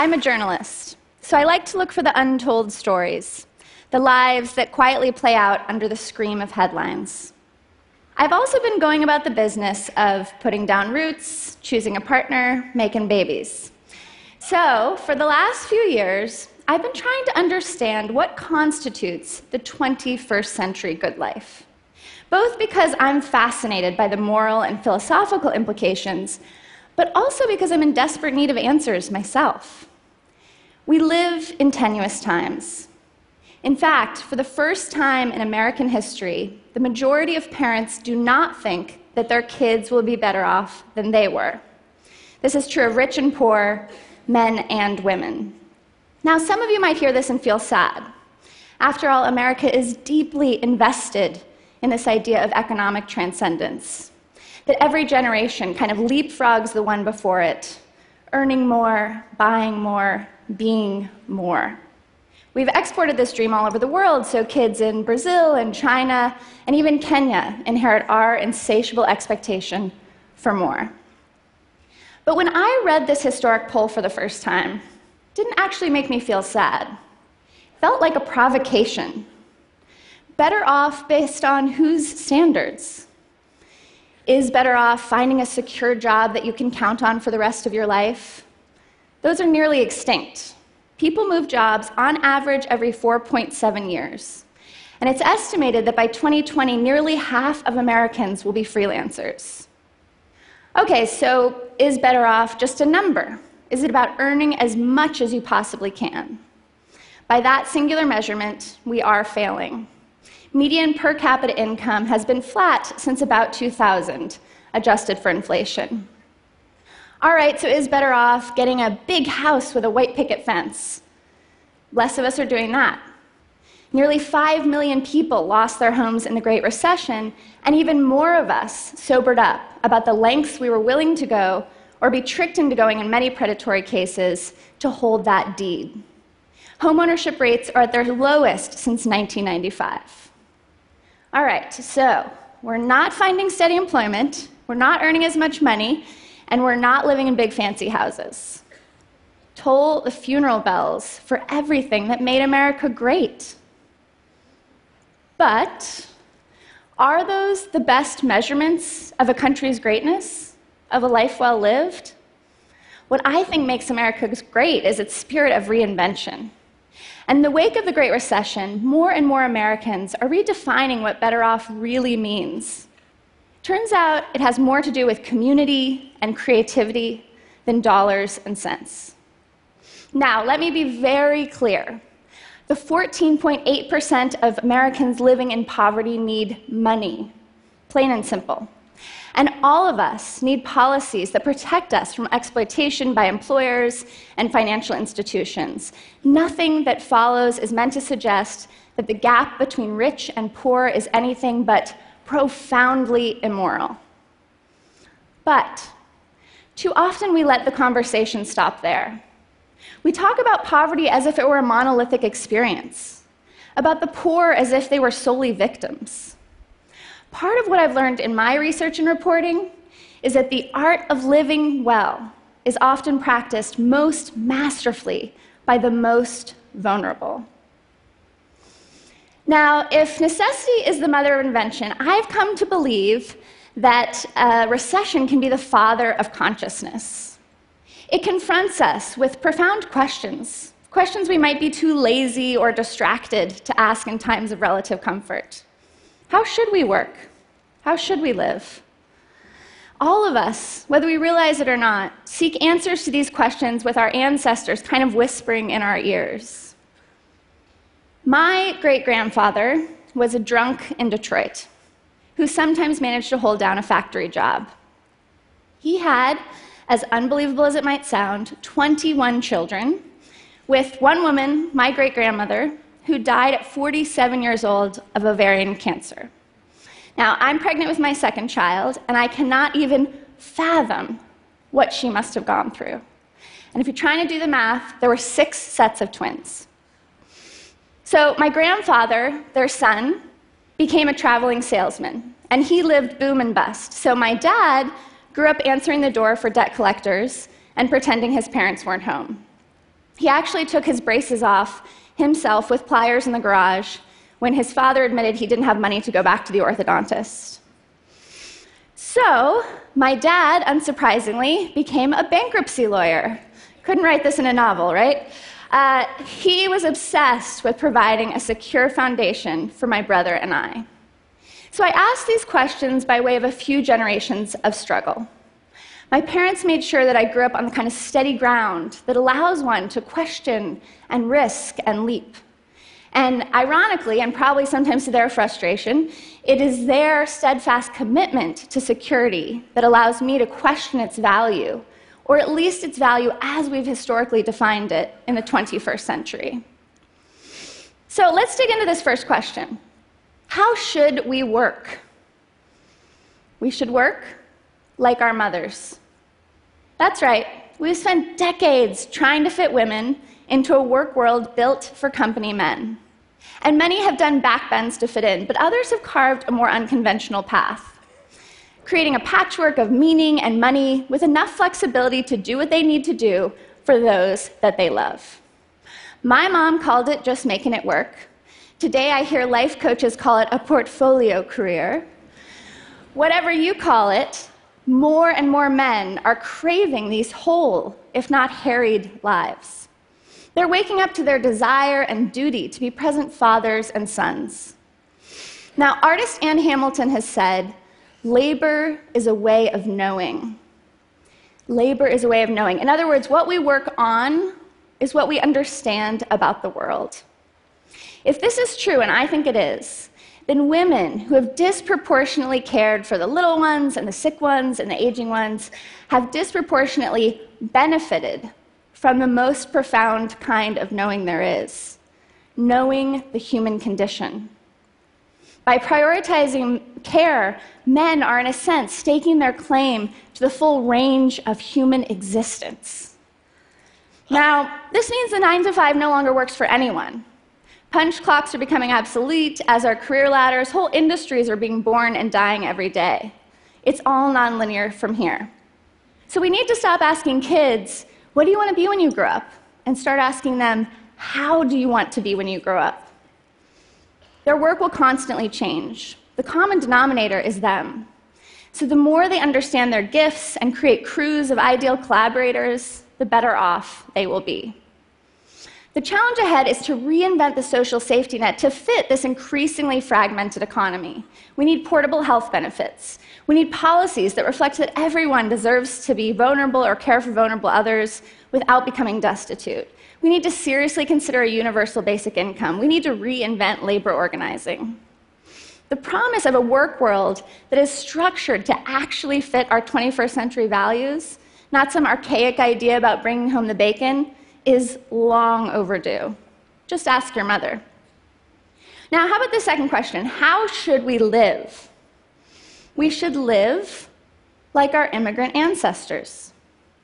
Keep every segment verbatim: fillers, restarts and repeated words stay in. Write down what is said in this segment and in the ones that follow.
I'm a journalist, so I like to look for the untold stories, the lives that quietly play out under the scream of headlines. I've also been going about the business of putting down roots, choosing a partner, making babies. So, for the last few years, I've been trying to understand what constitutes the twenty-first century good life, both because I'm fascinated by the moral and philosophical implications, but also because I'm in desperate need of answers myself. We live in tenuous times. In fact, for the first time in American history, the majority of parents do not think that their kids will be better off than they were. This is true of rich and poor, men and women. Now, some of you might hear this and feel sad. After all, America is deeply invested in this idea of economic transcendence, that every generation kind of leapfrogs the one before it, earning more, buying more, being more. We've exported this dream all over the world, so kids in Brazil and China and even Kenya inherit our insatiable expectation for more. But when I read this historic poll for the first time, it didn't actually make me feel sad. It felt like a provocation. Better off based on whose standards? Is better off finding a secure job that you can count on for the rest of your life? Those are nearly extinct. People move jobs on average every four point seven years. And it's estimated that by twenty twenty, nearly half of Americans will be freelancers. Okay, so is better off just a number? Is it about earning as much as you possibly can? By that singular measurement, we are failing. Median per capita income has been flat since about two thousand, adjusted for inflation. All right, so is better off getting a big house with a white picket fence? Less of us are doing that. Nearly five million people lost their homes in the Great Recession, and even more of us sobered up about the lengths we were willing to go, or be tricked into going in many predatory cases, to hold that deed. Homeownership rates are at their lowest since nineteen ninety-five. All right, so we're not finding steady employment, we're not earning as much money, and we're not living in big fancy houses. Toll the funeral bells for everything that made America great. But are those the best measurements of a country's greatness, of a life well lived? What I think makes America great is its spirit of reinvention. And in the wake of the Great Recession, more and more Americans are redefining what better off really means. Turns out it has more to do with community and creativity than dollars and cents. Now, let me be very clear. The fourteen point eight percent of Americans living in poverty need money, plain and simple. And all of us need policies that protect us from exploitation by employers and financial institutions. Nothing that follows is meant to suggest that the gap between rich and poor is anything but profoundly immoral. But too often we let the conversation stop there. We talk about poverty as if it were a monolithic experience, about the poor as if they were solely victims. Part of what I've learned in my research and reporting is that the art of living well is often practiced most masterfully by the most vulnerable. Now, if necessity is the mother of invention, I've come to believe that a recession can be the father of consciousness. It confronts us with profound questions, questions we might be too lazy or distracted to ask in times of relative comfort. How should we work? How should we live? All of us, whether we realize it or not, seek answers to these questions with our ancestors kind of whispering in our ears. My great-grandfather was a drunk in Detroit who sometimes managed to hold down a factory job. He had, as unbelievable as it might sound, twenty-one children, with one woman, my great-grandmother, who died at forty-seven years old of ovarian cancer. Now, I'm pregnant with my second child, and I cannot even fathom what she must have gone through. And if you're trying to do the math, there were six sets of twins. So my grandfather, their son, became a traveling salesman, and he lived boom and bust. So my dad grew up answering the door for debt collectors and pretending his parents weren't home. He actually took his braces off himself with pliers in the garage when his father admitted he didn't have money to go back to the orthodontist. So, my dad, unsurprisingly, became a bankruptcy lawyer. Couldn't write this in a novel, right? Uh, he was obsessed with providing a secure foundation for my brother and I. So I asked these questions by way of a few generations of struggle. My parents made sure that I grew up on the kind of steady ground that allows one to question and risk and leap. And ironically, and probably sometimes to their frustration, it is their steadfast commitment to security that allows me to question its value, or at least its value as we've historically defined it in the twenty-first century. So let's dig into this first question. How should we work? We should work like our mothers. That's right. We've spent decades trying to fit women into a work world built for company men. And many have done backbends to fit in, but others have carved a more unconventional path, creating a patchwork of meaning and money with enough flexibility to do what they need to do for those that they love. My mom called it just making it work. Today I hear life coaches call it a portfolio career. Whatever you call it, more and more men are craving these whole, if not harried, lives. They're waking up to their desire and duty to be present fathers and sons. Now, artist Ann Hamilton has said, labor is a way of knowing. Labor is a way of knowing. In other words, what we work on is what we understand about the world. If this is true, and I think it is, then women who have disproportionately cared for the little ones and the sick ones and the aging ones have disproportionately benefited from the most profound kind of knowing there is, knowing the human condition. By prioritizing care, men are, in a sense, staking their claim to the full range of human existence. Now, this means the nine to five no longer works for anyone. Punch clocks are becoming obsolete, as are career ladders. Whole industries are being born and dying every day. It's all nonlinear from here. So we need to stop asking kids, what do you want to be when you grow up? And start asking them, how do you want to be when you grow up? Their work will constantly change. The common denominator is them. So the more they understand their gifts and create crews of ideal collaborators, the better off they will be. The challenge ahead is to reinvent the social safety net to fit this increasingly fragmented economy. We need portable health benefits. We need policies that reflect that everyone deserves to be vulnerable or care for vulnerable others without becoming destitute. We need to seriously consider a universal basic income. We need to reinvent labor organizing. The promise of a work world that is structured to actually fit our twenty-first century values, not some archaic idea about bringing home the bacon, is long overdue. Just ask your mother. Now, how about the second question? How should we live? We should live like our immigrant ancestors.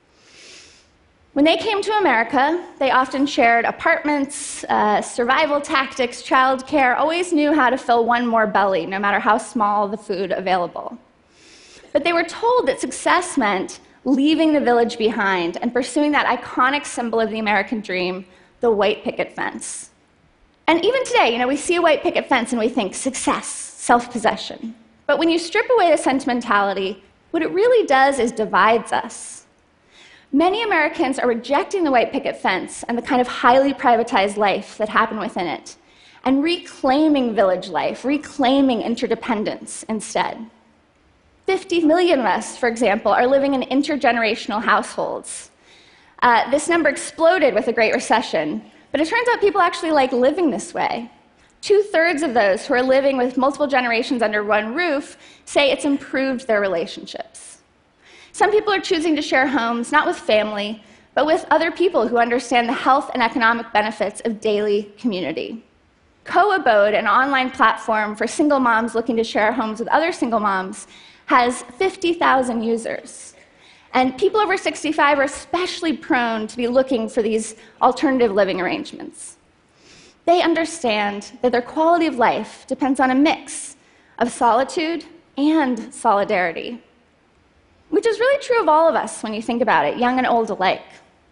When they came to America, they often shared apartments, uh, survival tactics, childcare, always knew how to fill one more belly, no matter how small the food available. But they were told that success meant leaving the village behind and pursuing that iconic symbol of the American dream, the white picket fence. And even today, you know, we see a white picket fence and we think success, self-possession. But when you strip away the sentimentality, what it really does is divides us. Many Americans are rejecting the white picket fence and the kind of highly privatized life that happened within it, and reclaiming village life, reclaiming interdependence instead. fifty million of us, for example, are living in intergenerational households. Uh, this number exploded with the Great Recession, but it turns out people actually like living this way. Two-thirds of those who are living with multiple generations under one roof say it's improved their relationships. Some people are choosing to share homes, not with family, but with other people who understand the health and economic benefits of daily community. Co-Abode, an online platform for single moms looking to share homes with other single moms, has fifty thousand users. And people over sixty-five are especially prone to be looking for these alternative living arrangements. They understand that their quality of life depends on a mix of solitude and solidarity, which is really true of all of us when you think about it, young and old alike.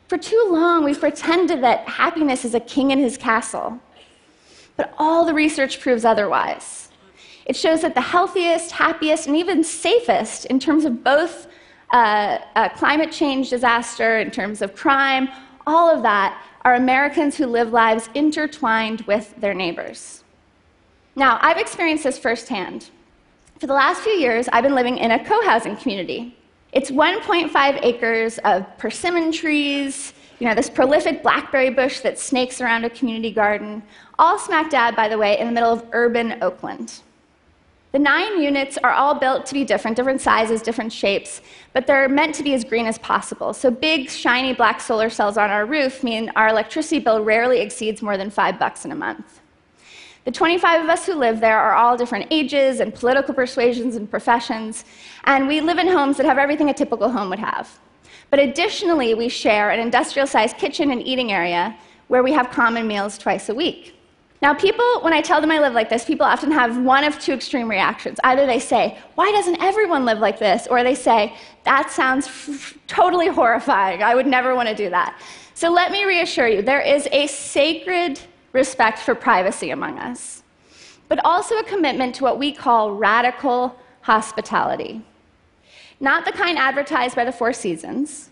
For too long, we've pretended that happiness is a king in his castle. But all the research proves otherwise. It shows that the healthiest, happiest, and even safest in terms of both uh, uh, climate change disaster, in terms of crime, all of that are Americans who live lives intertwined with their neighbors. Now, I've experienced this firsthand. For the last few years, I've been living in a co-housing community. It's one point five acres of persimmon trees, you know, this prolific blackberry bush that snakes around a community garden, all smack dab, by the way, in the middle of urban Oakland. The nine units are all built to be different, different sizes, different shapes, but they're meant to be as green as possible. So big, shiny black solar cells on our roof mean our electricity bill rarely exceeds more than five bucks in a month. The twenty-five of us who live there are all different ages and political persuasions and professions, and we live in homes that have everything a typical home would have. But additionally, we share an industrial-sized kitchen and eating area where we have common meals twice a week. Now, people, when I tell them I live like this, people often have one of two extreme reactions. Either they say, why doesn't everyone live like this? Or they say, that sounds f- totally horrifying. I would never want to do that. So let me reassure you, there is a sacred respect for privacy among us, but also a commitment to what we call radical hospitality. Not the kind advertised by the Four Seasons,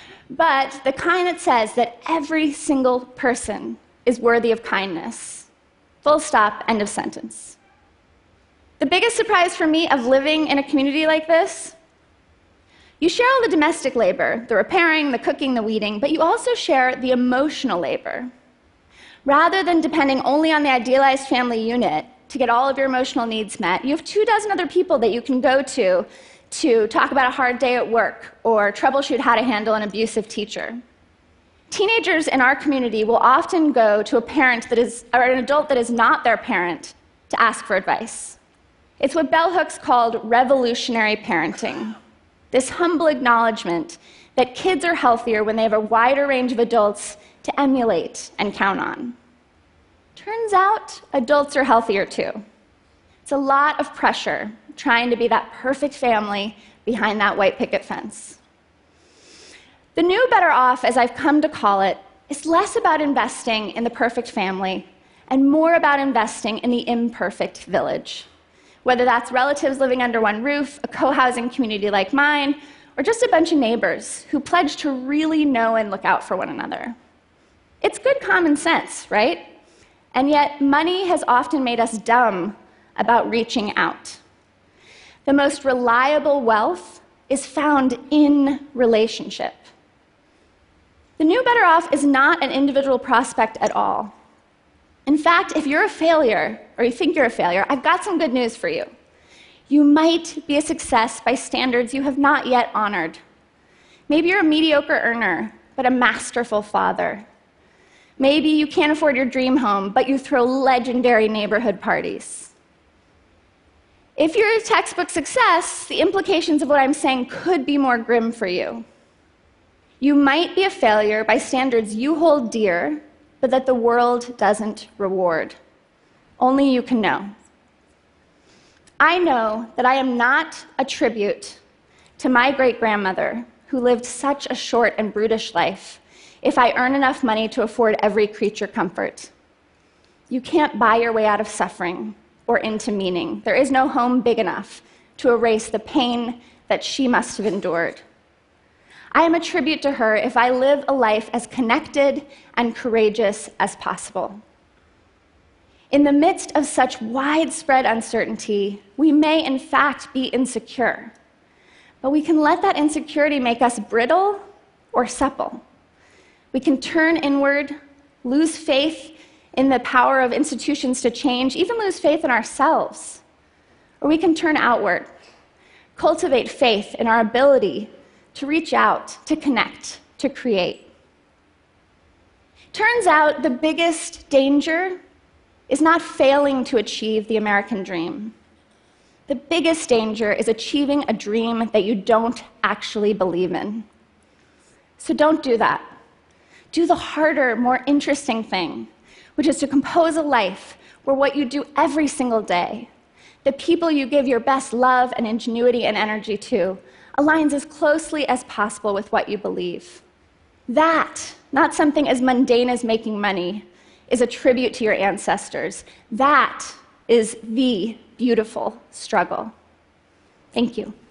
but the kind that says that every single person is worthy of kindness. Full stop, end of sentence. The biggest surprise for me of living in a community like this, you share all the domestic labor, the repairing, the cooking, the weeding, but you also share the emotional labor. Rather than depending only on the idealized family unit to get all of your emotional needs met, you have two dozen other people that you can go to to talk about a hard day at work or troubleshoot how to handle an abusive teacher. Teenagers in our community will often go to a parent that is, or an adult that is not their parent to ask for advice. It's what Bell Hooks called revolutionary parenting, this humble acknowledgement that kids are healthier when they have a wider range of adults to emulate and count on. Turns out, adults are healthier too. It's a lot of pressure trying to be that perfect family behind that white picket fence. The new better off, as I've come to call it, is less about investing in the perfect family and more about investing in the imperfect village. Whether that's relatives living under one roof, a co-housing community like mine, or just a bunch of neighbors who pledge to really know and look out for one another. It's good common sense, right? And yet, money has often made us dumb about reaching out. The most reliable wealth is found in relationship. The new better off is not an individual prospect at all. In fact, if you're a failure, or you think you're a failure, I've got some good news for you. You might be a success by standards you have not yet honored. Maybe you're a mediocre earner, but a masterful father. Maybe you can't afford your dream home, but you throw legendary neighborhood parties. If you're a textbook success, the implications of what I'm saying could be more grim for you. You might be a failure by standards you hold dear, but that the world doesn't reward. Only you can know. I know that I am not a tribute to my great-grandmother, who lived such a short and brutish life, if I earn enough money to afford every creature comfort. You can't buy your way out of suffering or into meaning. There is no home big enough to erase the pain that she must have endured. I am a tribute to her if I live a life as connected and courageous as possible. In the midst of such widespread uncertainty, we may in fact be insecure, but we can let that insecurity make us brittle or supple. We can turn inward, lose faith in the power of institutions to change, even lose faith in ourselves. Or we can turn outward, cultivate faith in our ability to reach out, to connect, to create. Turns out the biggest danger is not failing to achieve the American dream. The biggest danger is achieving a dream that you don't actually believe in. So don't do that. Do the harder, more interesting thing, which is to compose a life where what you do every single day, the people you give your best love and ingenuity and energy to, aligns as closely as possible with what you believe. That, not something as mundane as making money, is a tribute to your ancestors. That is the beautiful struggle. Thank you.